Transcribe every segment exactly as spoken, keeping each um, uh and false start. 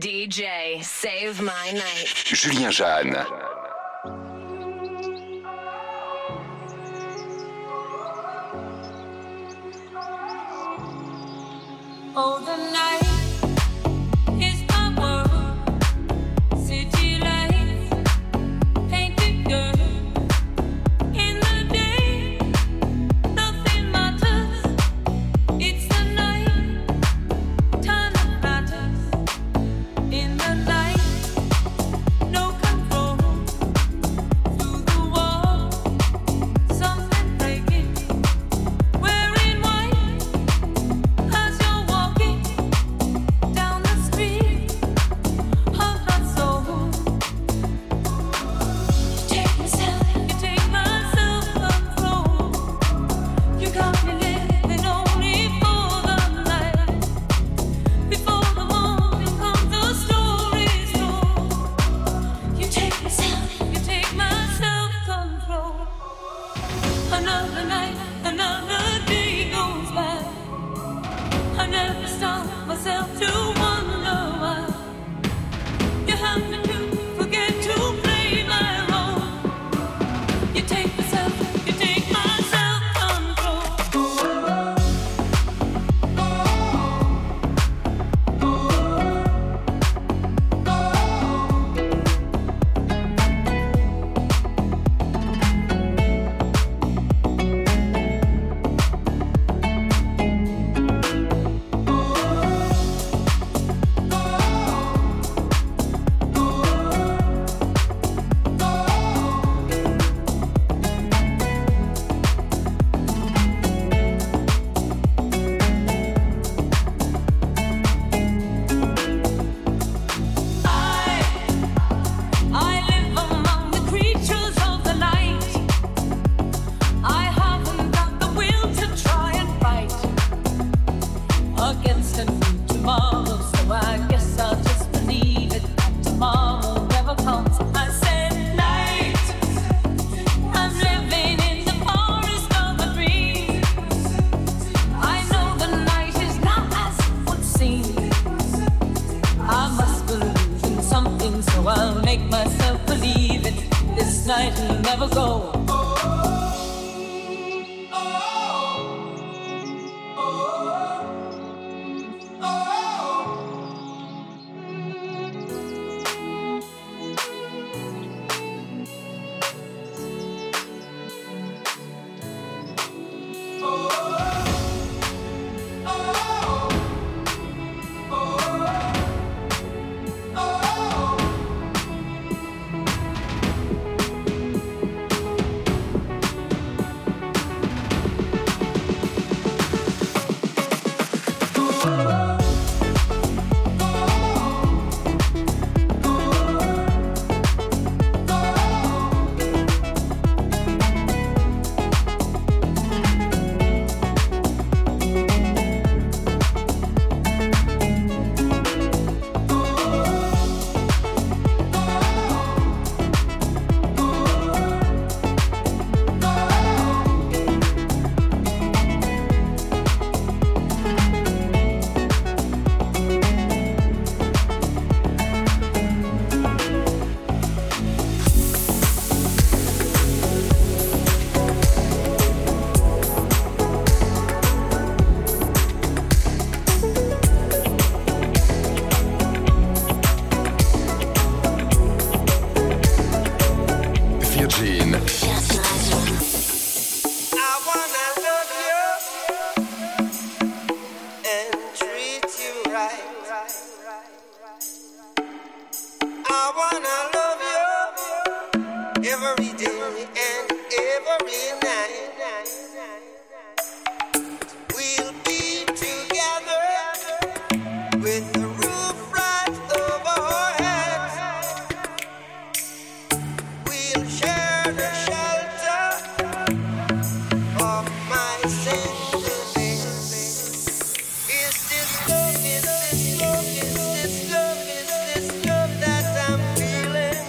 D J, save my night. Julien Jeanne. Oh, the night is my world. City lights, painted girl. In the day, nothing matters. It's the night, time that matters. In the night, no control. Through the wall, something breaking. Wearing white as you're walking down the street of my soul. You take myself, you take my self-control. You got me living only for the night. Before the morning comes, the story's told. You take myself, you take my self-control. Another night, another day goes by. I never stop myself to wonder why you have me to forget to play my role. You take myself, you take my self-control. I, I live among the creatures of the night. I haven't got the will to try and fight against a new tomorrow, so I guess I'll just believe it that tomorrow never comes. I said night, I'm living in the forest of a dream. I know the night is not as it would seem. I must believe in something, so I'll make myself believe it. This night will never go. Virgin. I wanna love you and treat you right. I wanna love you every day and every night. We'll be together with the roof right over our heads. We'll share the shelter of my single bed. Is this love, is this love, is this love, is this love that I'm feeling?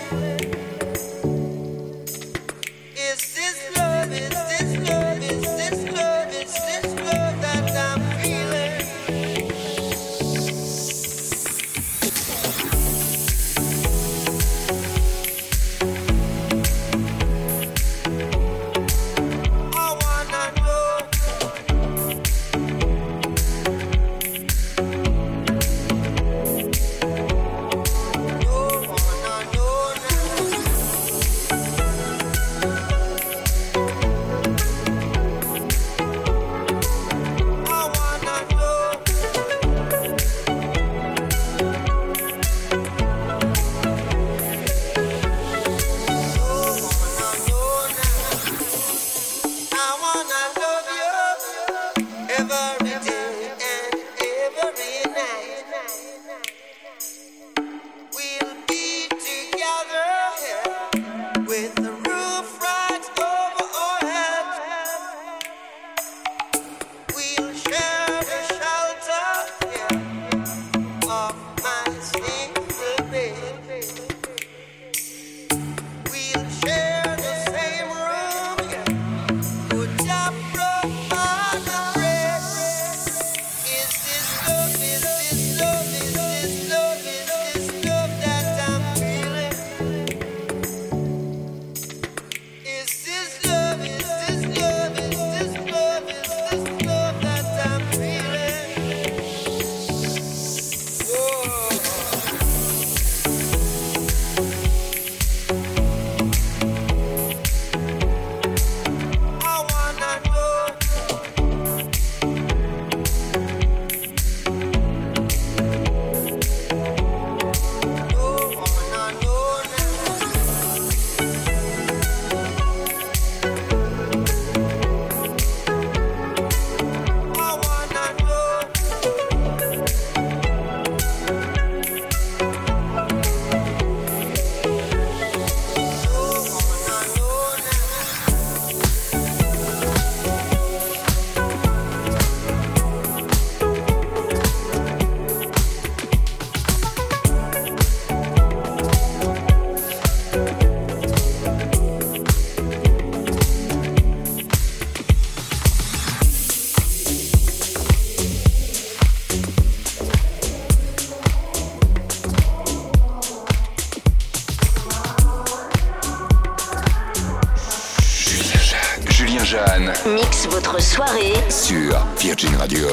Jeanne Mix votre soirée sur Virgin Radio.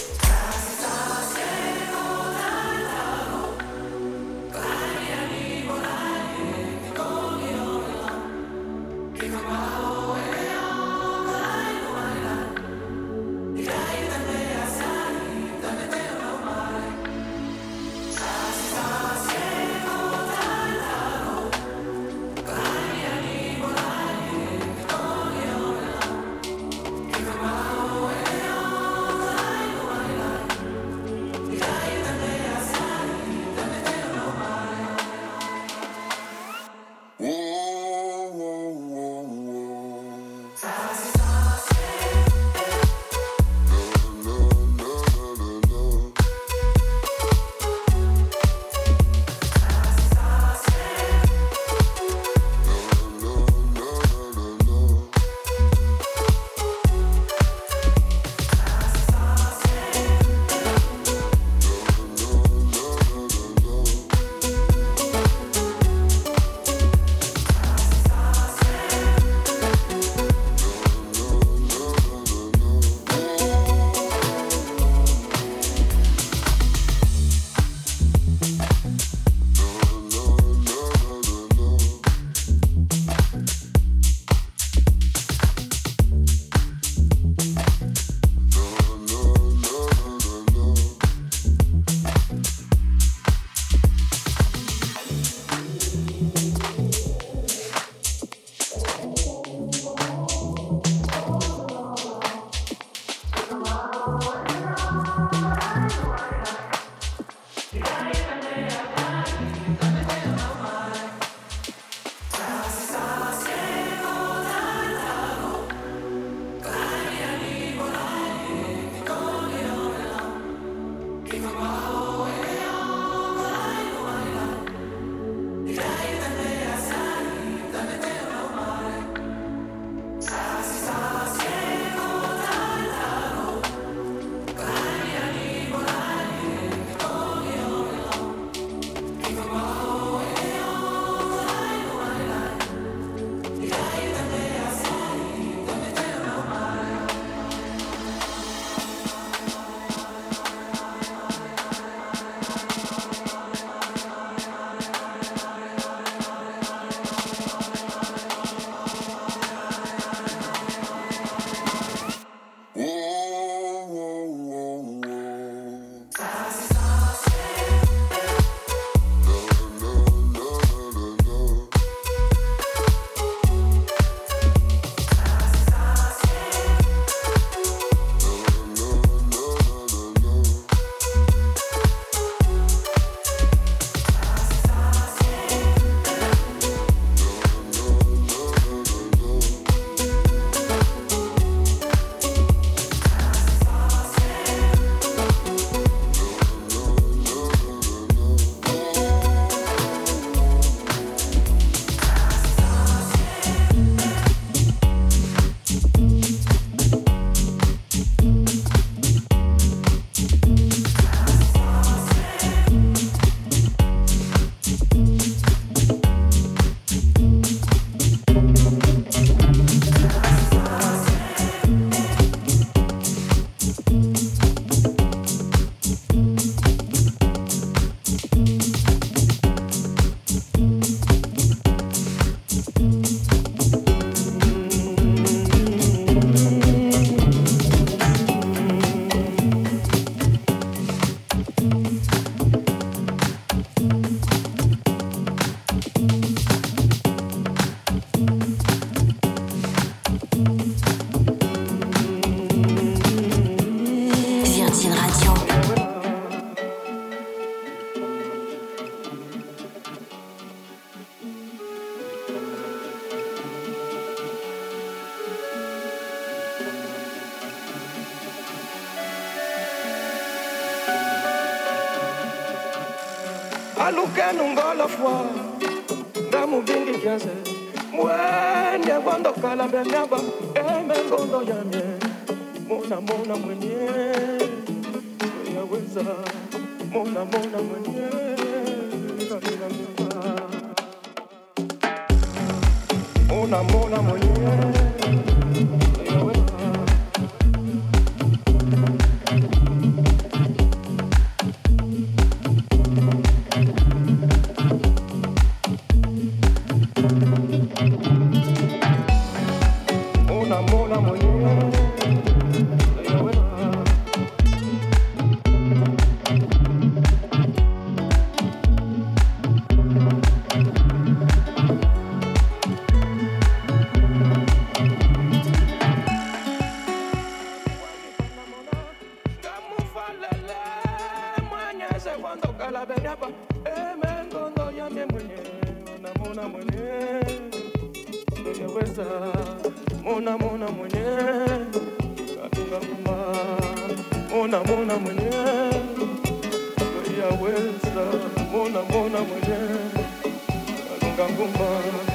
aluke nungola fwa ndamu bingi kiase mwende wando kala benyaba eme ngondo yamye mona mona mwenye yaweza mona mona mwenye mona mona mwenye emengondo yami mwenye unamona mwenye uyaweza mona mona mwenye katunga kuma mona mona mwenye uyaweza mona mona mwenye katunga kuma.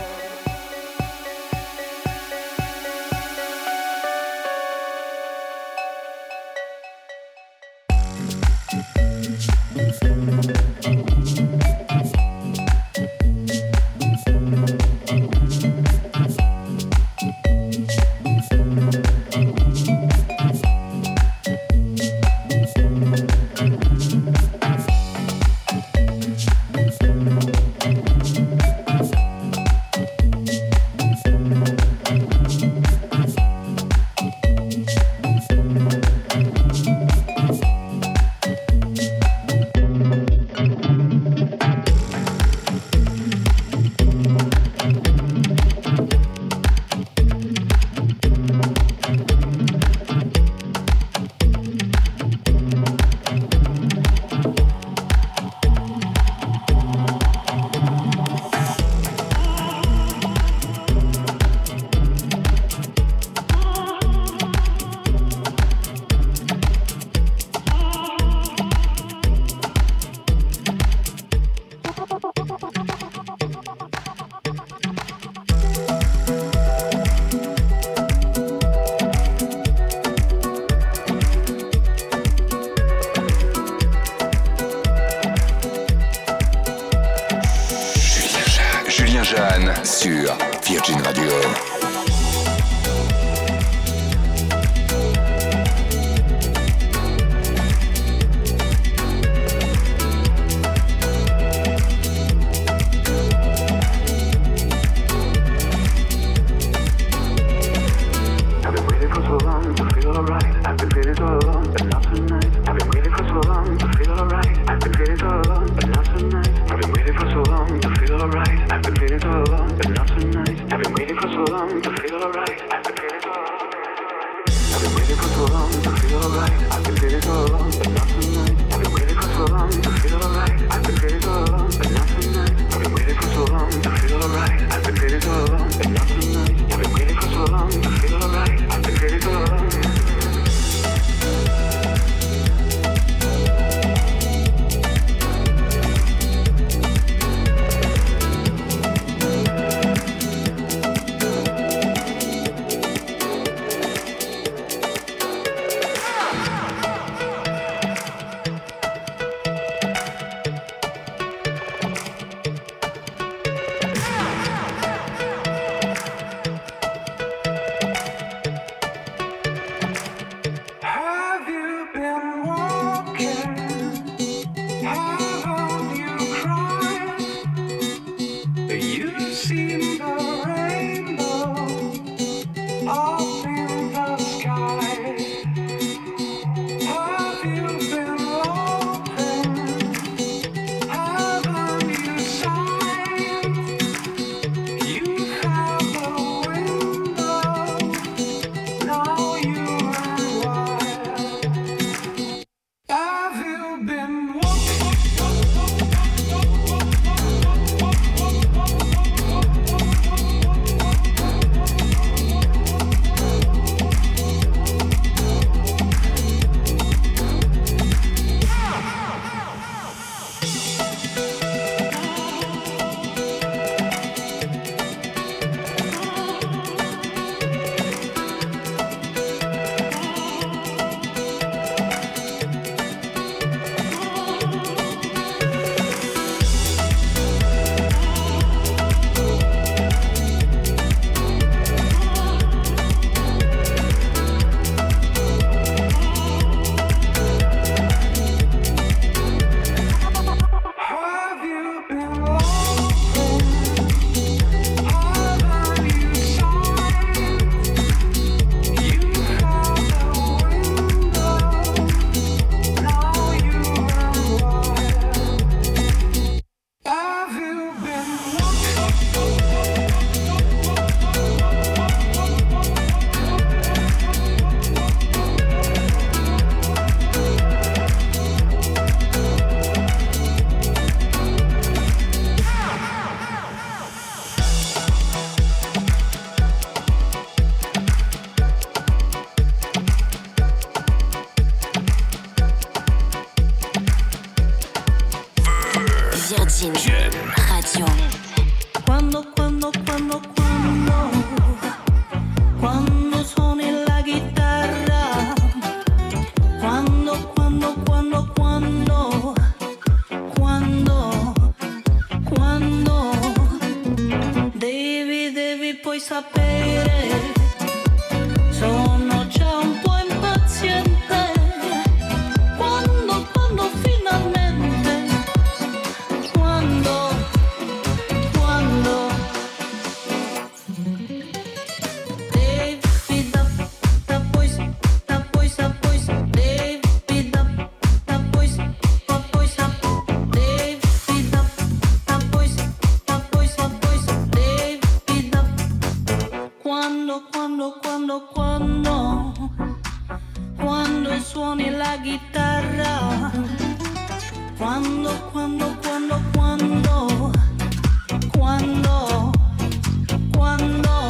Sur Virgin Radio. I've been waiting for so long to Virgin Radio. Quando, quando, quando, quando, quando suoni la chitarra, quando, quando, quando, quando, quando, quando, devi, devi poi sapere, sono già un po' impaziente, quando, quando finalmente, quando, quando, devi da, da poi, da poi, da poi, devi da, da poi, da poi, devi da, da poi, da poi, da poi, devi da, quando, quando, quando, quando, quando suoni la chitarra, quando, quando, quando, quando, quando, quando,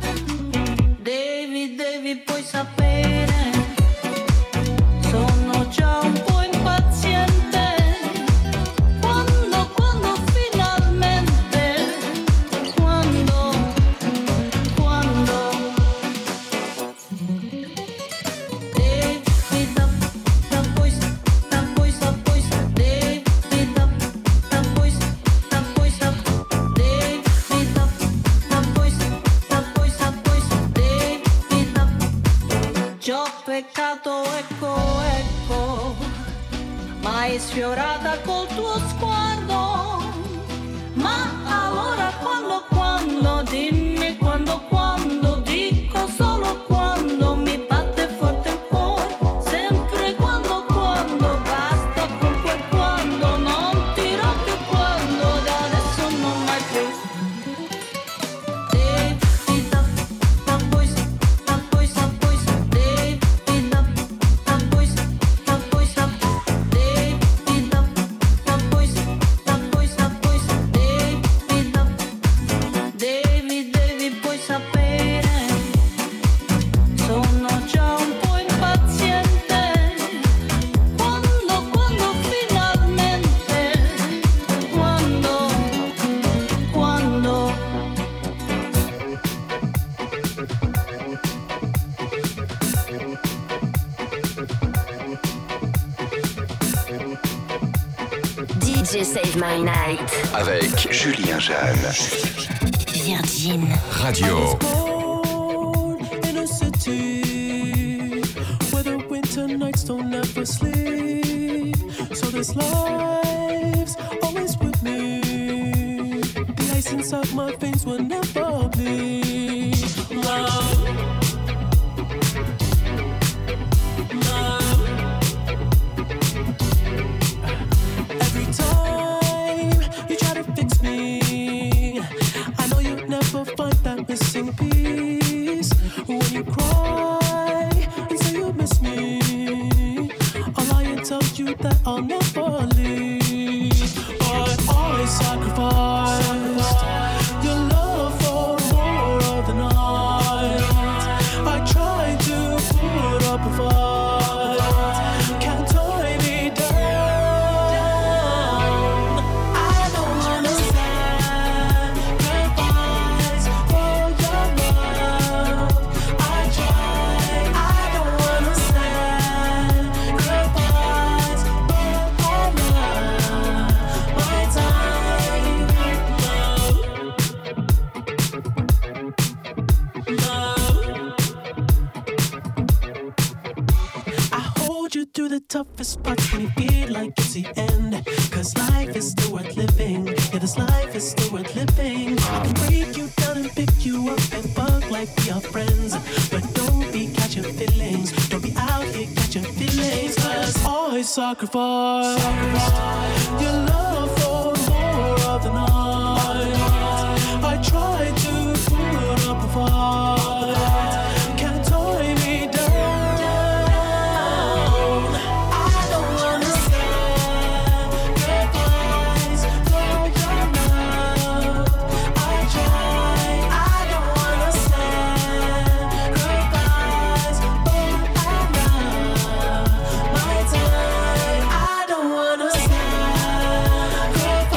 devi, devi poi sapere, sono già un po' impaziente, quando, quando finalmente, quando, quando, devi da, da poi, da poi, da poi, devi da, da poi, da poi, da devi da, da poi, da poi, da poi, devi da, già ho peccato, ecco, ecco, ma hai sfiorata col tuo sguardo, ma allora quando, quando, dimmi quando, quando, dico solo quando, mi batte forte il cuore, sempre quando, quando, basta con quel quando, non dirò più quando, da adesso non mai più. Devi da, da poi, da poi, da poi, devi da, da poi, da poi, da devi da, da poi, da poi, da poi, devi da, devi, devi poi sapere, sono già un po' impaziente, quando, quando finalmente, quando, quando. D J Save My Night. Avec Julien Jeanne. Virgin Radio. Born in a city where the winter nights don't ever sleep. So this life's always with me. The ice inside my veins will never bleed. Love, love. Every time you try to fix me, I know you'll never find that missing piece. When you cry and say you miss me, I'll lie and tell you that I'll never leave. But I sacrificed your love for more of the night. I tried to put up a fight, can't tie me down. I don't wanna sacrifice for your love. I try, I don't wanna sacrifice for all love. My time, love, love. I hold you through the toughest parts when you feel like it's the end. Cause life is still worth living. Yeah, this life is still worth living. I can break you down and pick you up and fuck like we are friends. But don't be catching feelings. Don't be out here catching feelings. Cause I sacrificed your love for more of the night. I tried to put up a fight, can't tie me down. I don't wanna sacrifice for your love. I try, I don't wanna sacrifice for our love. My time, I don't wanna sacrifice.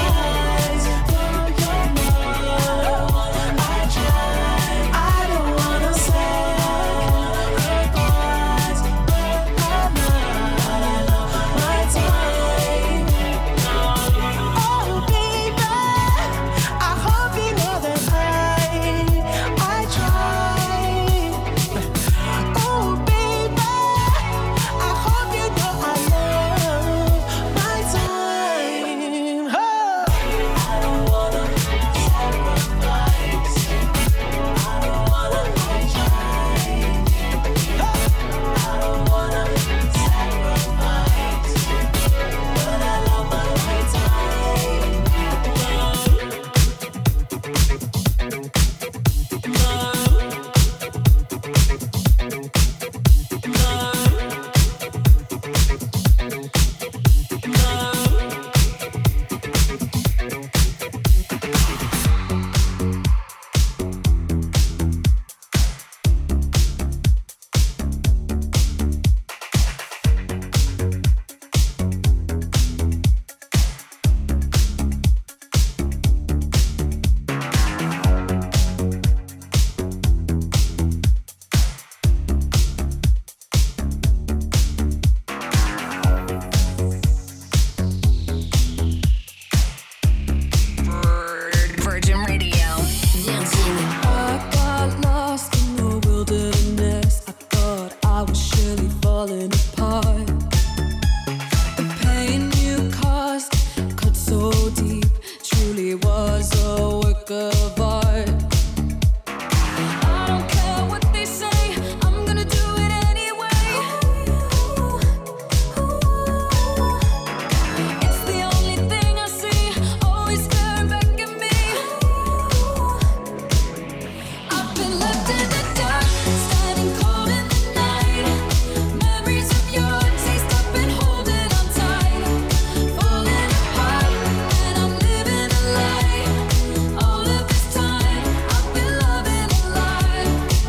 really was a work of art. I don't care what they say, I'm gonna do it anyway. It's the only thing I see, always staring back at me. I've been left in the dark, standing cold in the night. Memories of your taste, I've been holding on tight. Falling apart, and I'm living a lie. All of this time, I've been loving a lie.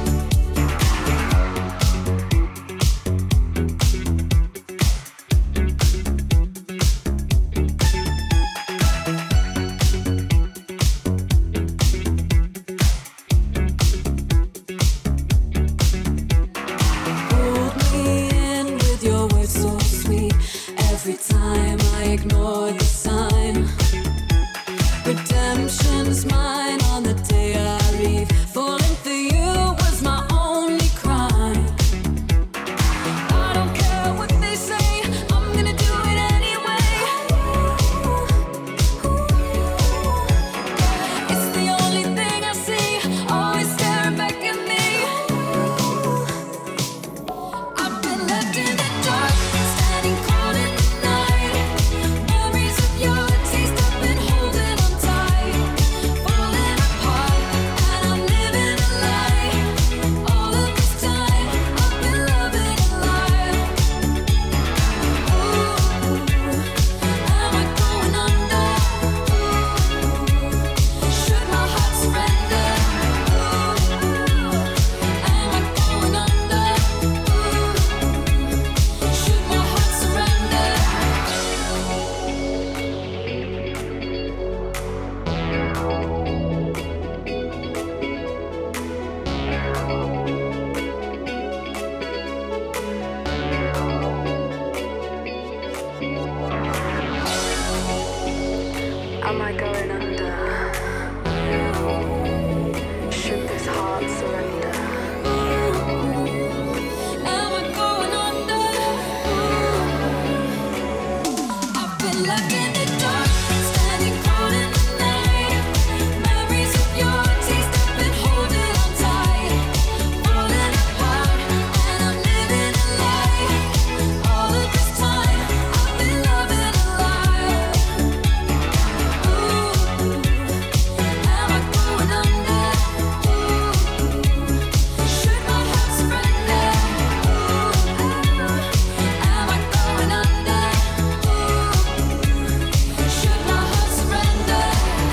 Pulled me in with your words so sweet. Every time I ignore the sign, redemption's mine on the day I leave. Falling for you was my only crime. I don't care what they say, I'm gonna do it anyway. It's the only thing I see, always staring back at me. I've been left in the dark, standing cold in the night. Memories of your taste, I've been holding on tight. Falling apart, and I'm living a lie. All of this time, I've been loving a lie. Ooh, am I going under? Should my heart surrender? Ooh, am I going under? Should my heart surrender? Am I going under? Should this heart surrender? Am I going under? I've been left in the dark, standing cold in the night. Memories of your taste, I've been holding on tight. Falling apart, and I'm living a lie. All of this time, I've been loving a lie. Ooh, am I going under? Should my heart surrender? Ooh, am I going under? Should my heart surrender?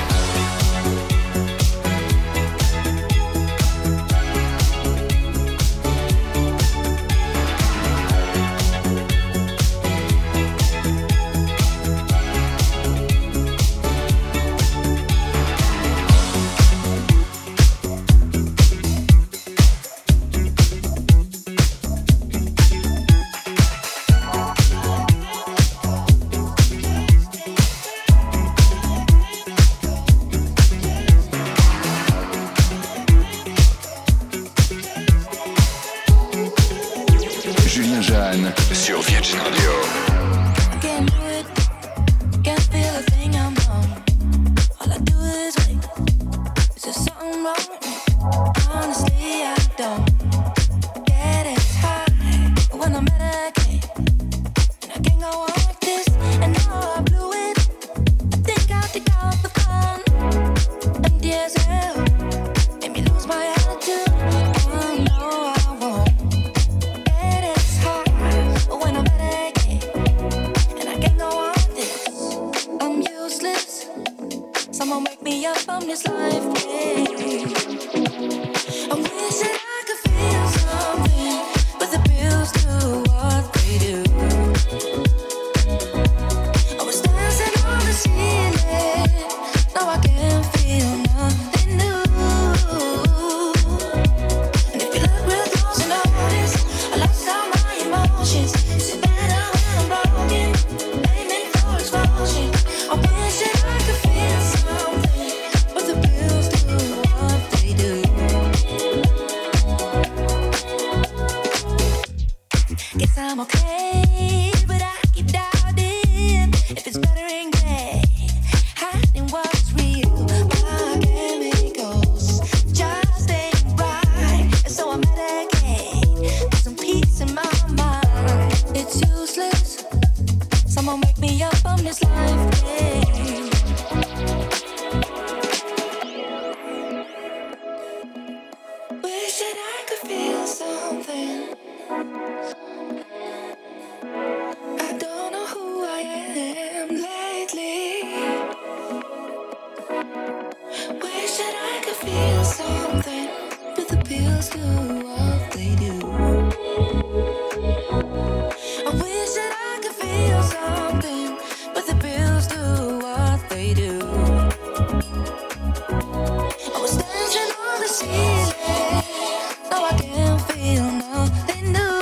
Julien Jeanne sur Virgin Radio. I can't do it. Can't feel a thing I'm wrong. All I do is wait. Is there something wrong? Honestly, I don't get it. High, but when I'm at a game, and I can't go on like this. And now I blew it. I think I think out the fun. And D S L made me lose my attitude. Oh no, I won't. Get it high, but when I'm at a game, and I can't go on like this. I'm useless. Someone wake me up from this life. Yeah. I wish that I could feel something, but the bills do what they do. I was dancing on the ceiling, now I can't feel nothing new. And if you look real close and notice, I lost all my emotions. Is it better when I'm broken, aiming for explosion? I wish that I could feel something, but the bills do what they do. that I could feel something, but the pills do what they do. I wish that I could feel something, but the pills do what they do. I was dancing on the ceiling, now I can't feel nothing new.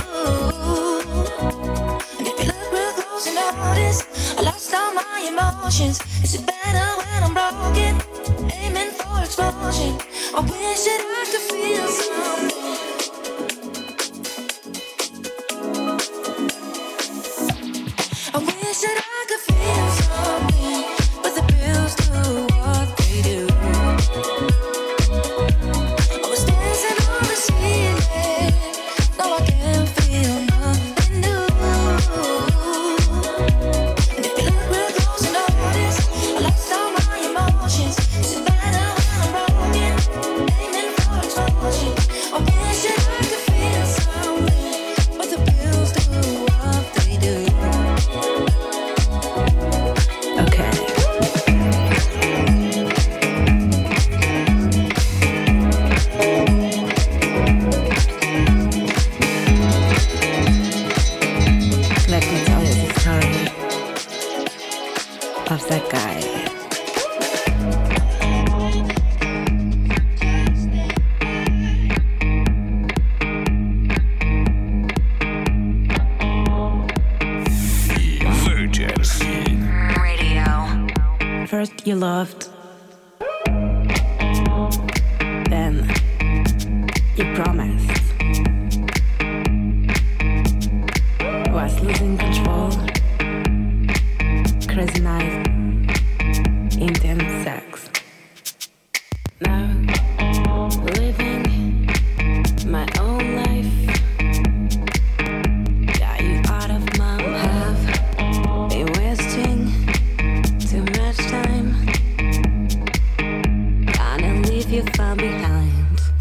And if you look real close and notice, I lost all my emotions. Is it better when I'm broken? Aiming for explosion. I wish that I could feel something. I wish that I could feel something, but the pills do what they do. I was dancing on the ceiling, now I can't feel nothing new. And if you look real close and notice, I lost all my emotions. Is it better when I'm broken? Aiming for explosion. I wish that I could feel something, but the pills do what they do. Okay. Let me tell you the story of that guy. Virgin Radio. First you loved, then you promised. Was losing control, crazy night, intense sex. Now living my own life. Got you out of my have been wasting too much time. Gonna leave you far behind.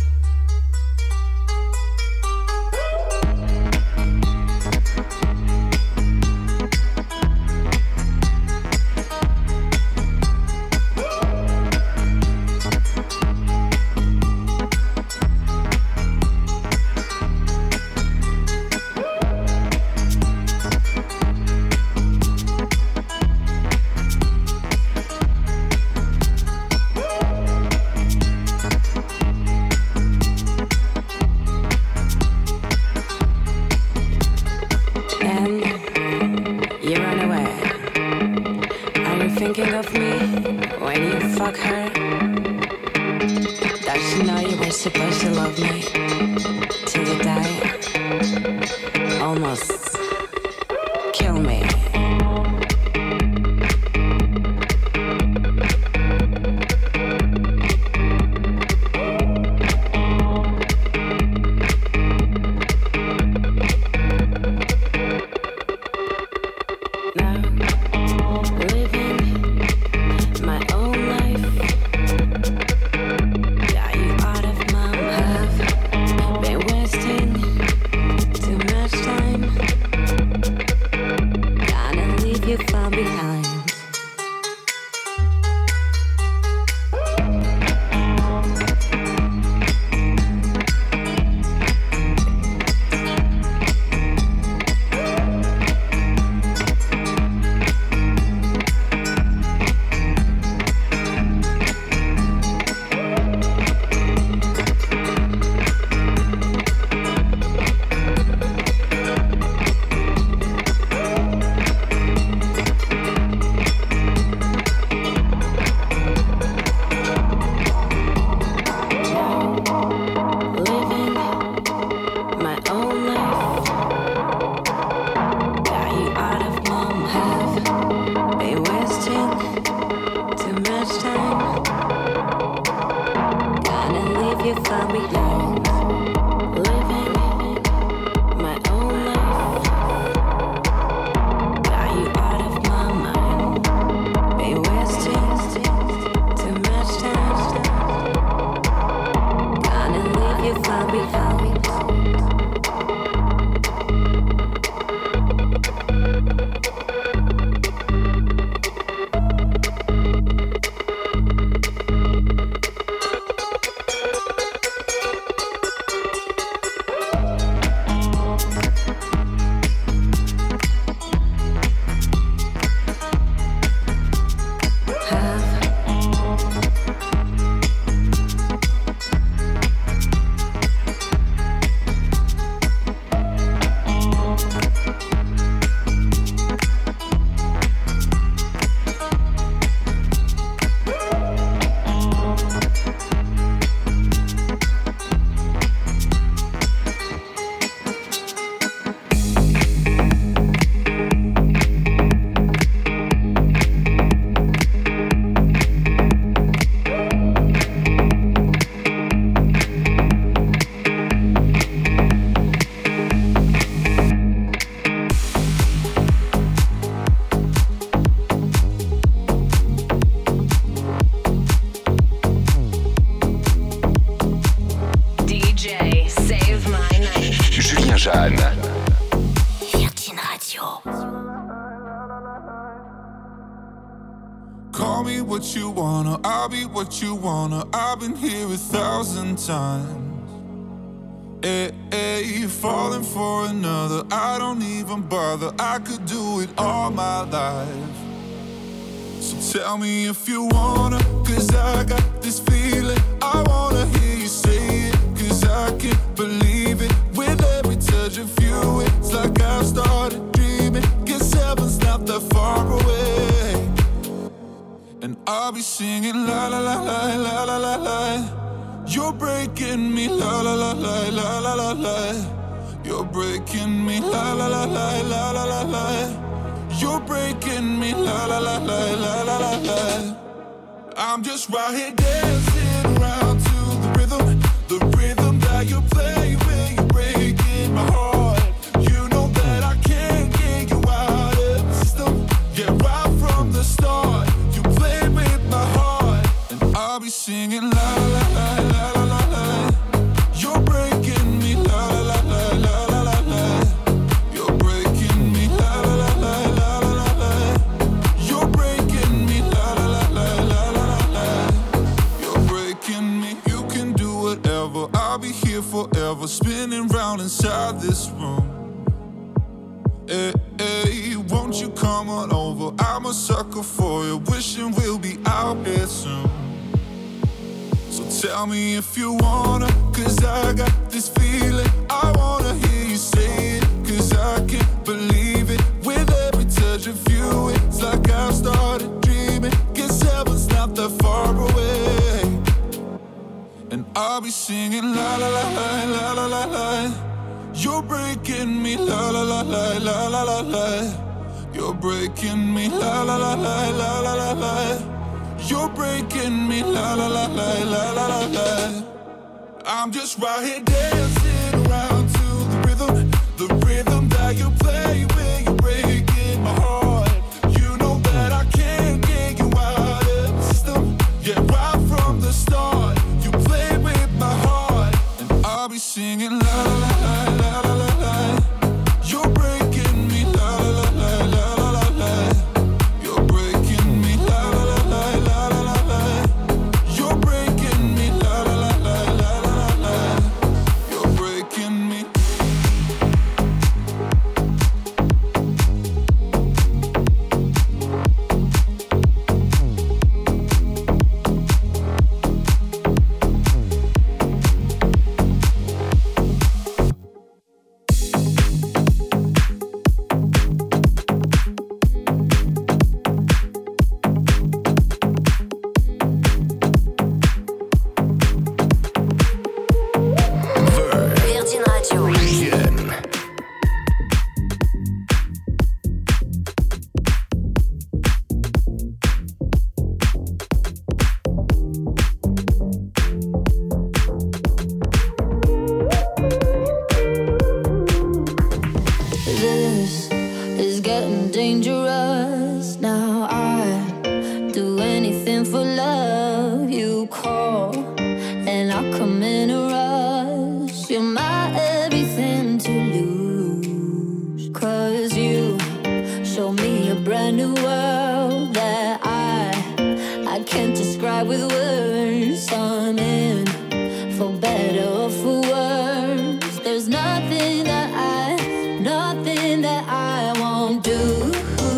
And you run away. Are you thinking of me when you fuck her? Does she know you were supposed to love me till you die? Almost kill me. Now living my own life. Got you out of my have been wasting too much time. Gonna leave you far behind. Living my own life. Got you out of my have been wasting too much time. Gonna leave you far behind. Living my own life. Got you out of my mind. Been wasting too much time. Gonna leave you far behind. Jeanne. Virgin Radio. Call me what you wanna, I'll be what you wanna. I've been here a thousand times. Hey, hey, falling for another, I don't even bother. I could do it all my life. So tell me if you wanna, cause I got this feeling. I wanna hear you say it, cause I can't believe it. With every touch of you, it's like I've started dreaming. Guess heaven's not that far away. And I'll be singing la la la la la la la la. You're breaking me la la la la la la la la. You're breaking me la la la la la la la la. You're breaking me la la la la la la la la. I'm just right here dancing around to the rhythm, the rhythm that you play when you're breaking my heart. You know that I can't get you out of the system. Yeah, right from the start, you played with my heart, and I'll be singing la la la la la la la. You're breaking me la la la la la la la. You're breaking me la la la la la la la. You're breaking me la la la la la la la. You're breaking me. You can do whatever. I'll be here forever, spinning round inside this room. Hey, hey, won't you come on over? I'm a sucker for you, wishing we'll be out here soon. So tell me if you wanna, cause I got this feeling. I wanna hear you say it, cause I can't believe it. With every touch of you, it's like I've started dreaming. Guess heaven's not that far away. And I'll be singing la la la la la la la la. You're breaking me la la la la la la la la. You're breaking me la la la la la la la la. You're breaking me la la la la la la la la. I'm just right here dancing around to the rhythm, the rhythm that you play when you're breaking my heart. You know that I can't get you out of the system. Yeah, right from the start, you played with my heart, and I'll be singing la la la la la la la. You're breaking me la la la la la la la. You're breaking me la la la la la la la la. You're breaking me la la la la la la la. You're breaking me. Virgin Radio. Jeanne. This is getting dangerous. Now I do anything for love. You call and I come in a rush. You're my everything to lose. Cause you show me a brand new world that I I can't describe with words. I'm in for better or for worse. There's nothing that I, nothing that I won't do.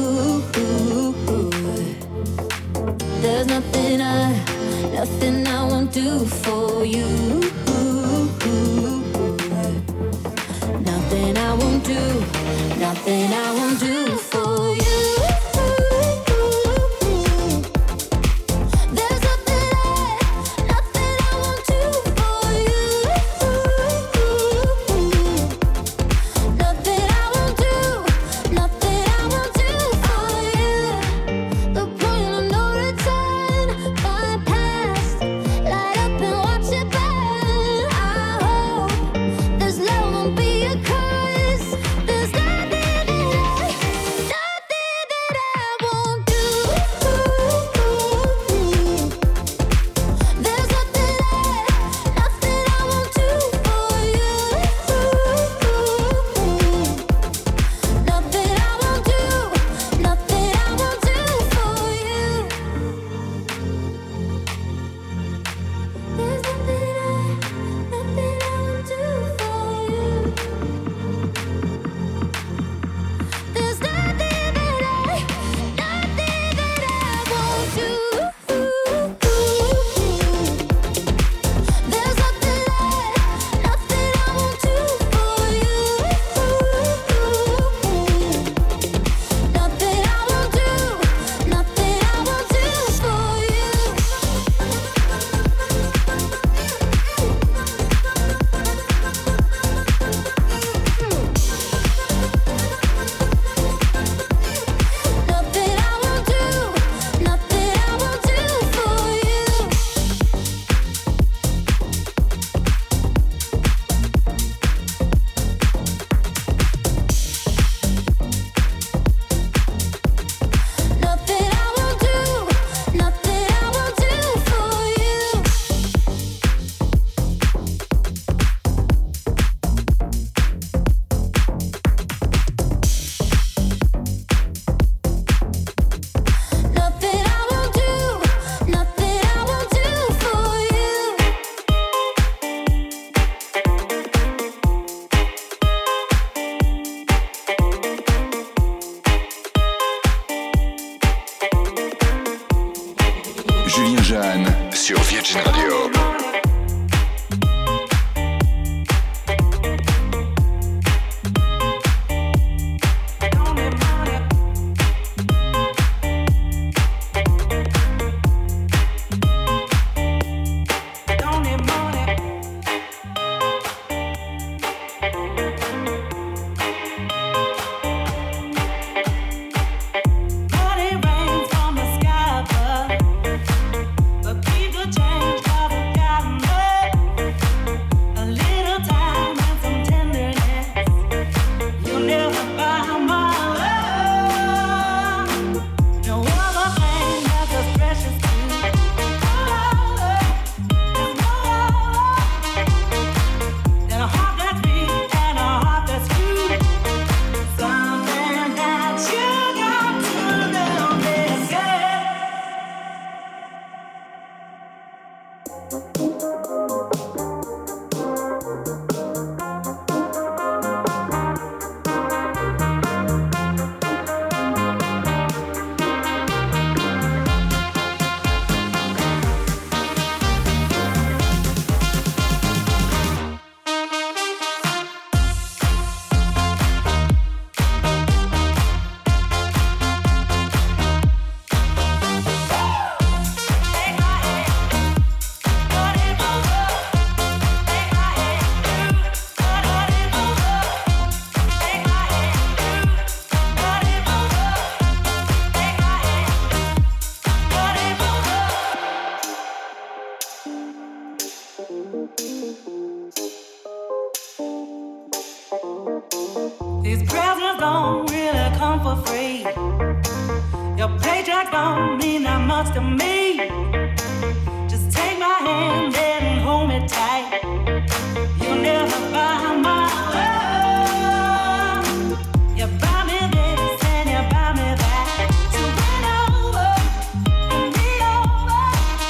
There's nothing I, nothing I won't do for you. Nothing I won't do, nothing I won't do for you. There's nothing I, nothing I won't do for you. Nothing I won't do, nothing I won't do for you. The point of no return, my past, light up and watch it burn. Jeanne sur Virgin Radio. These presents don't really come for free. Your paycheck don't mean that much to me. Just take my hand and hold me tight. You'll never buy my love. You buy me this and you buy me that. So win over and be over.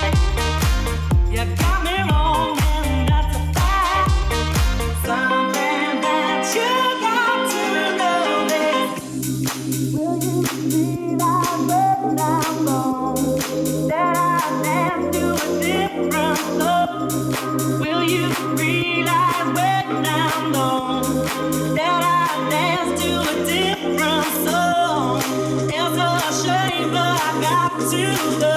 You got me wrong and that's a fact. Something that you got to know is, will you realize when I'm gone that I dance to a different love? Will you realize when I'm gone that I dance to a different song? It's a shame, but I got to go.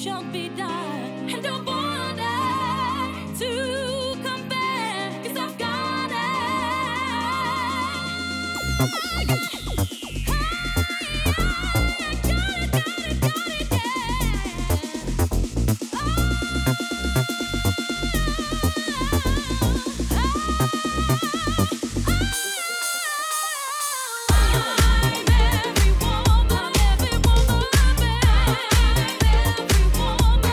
shall be done. And don't bother to compare, 'cause I've got it. Every woman, every woman, every woman.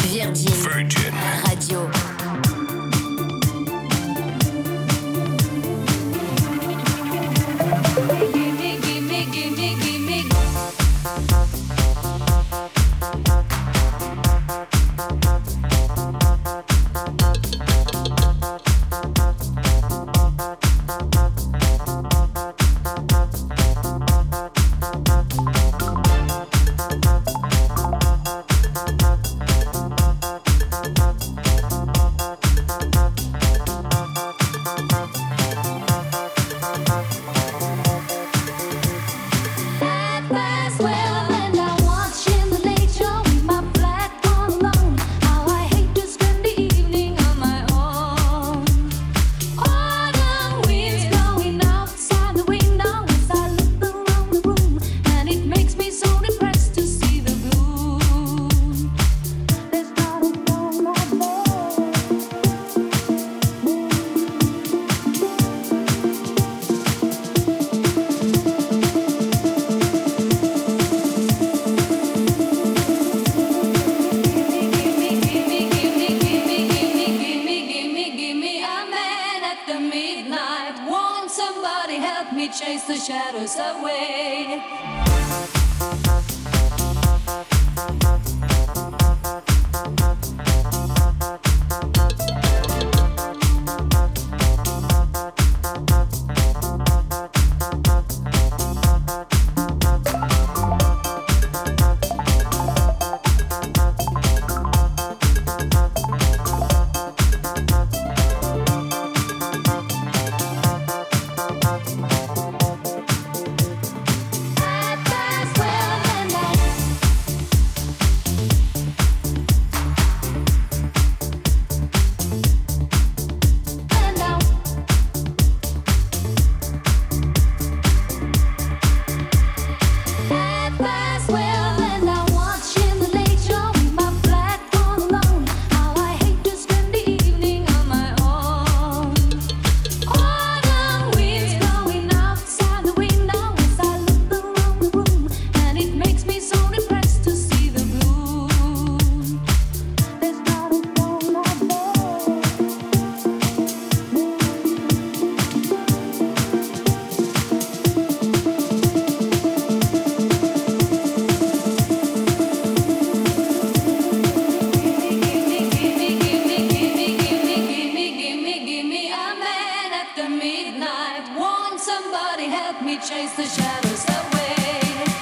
Virgin. Virgin Radio. Gimme, gimme, gimme, gimme. Chase the shadows away. Chase the shadows away.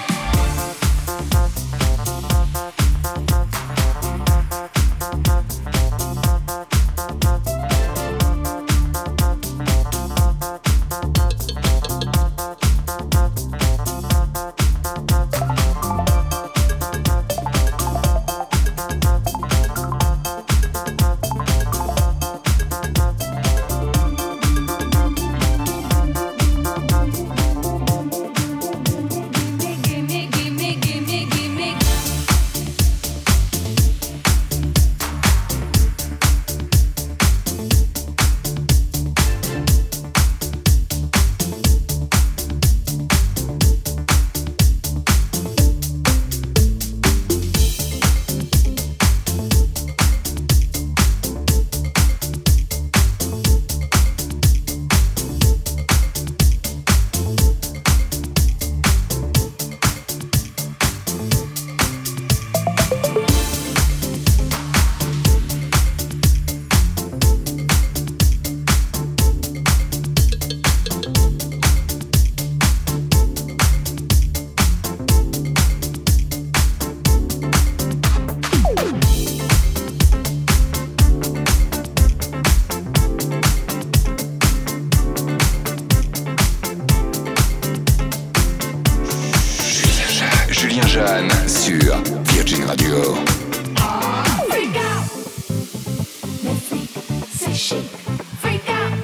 Jeanne sur Virgin Radio. Freak out. Le freak, c'est chic. Freak out.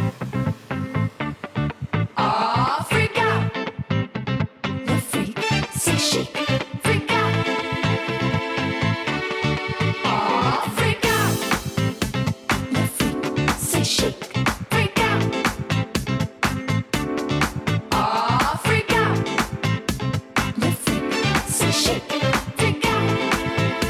Ah, freak out. Le freak, c'est chic. Freak out. Ah, freak out. Le freak, c'est chic. Freak out. Ah, freak out. Le freak, c'est chic. Freak out.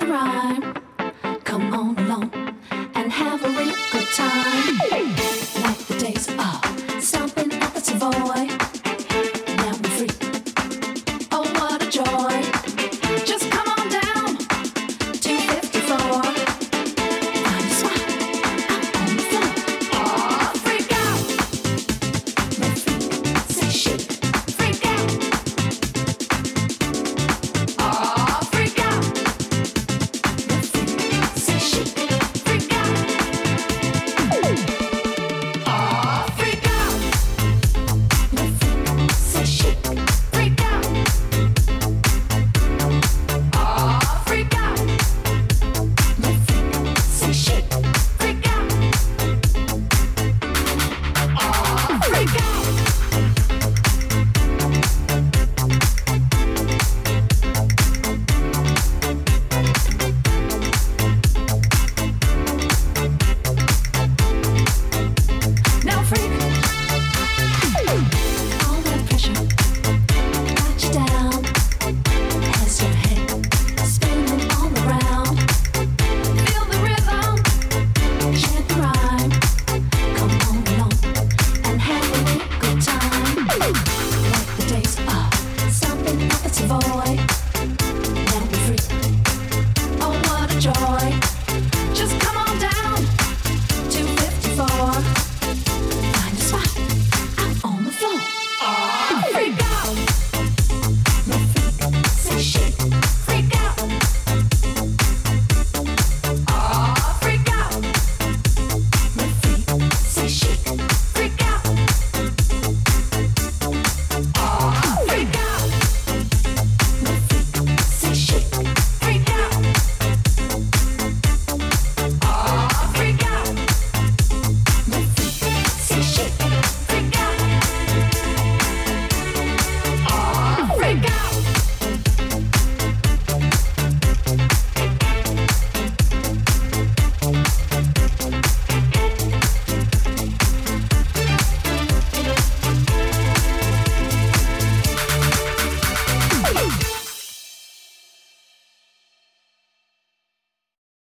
rhyme.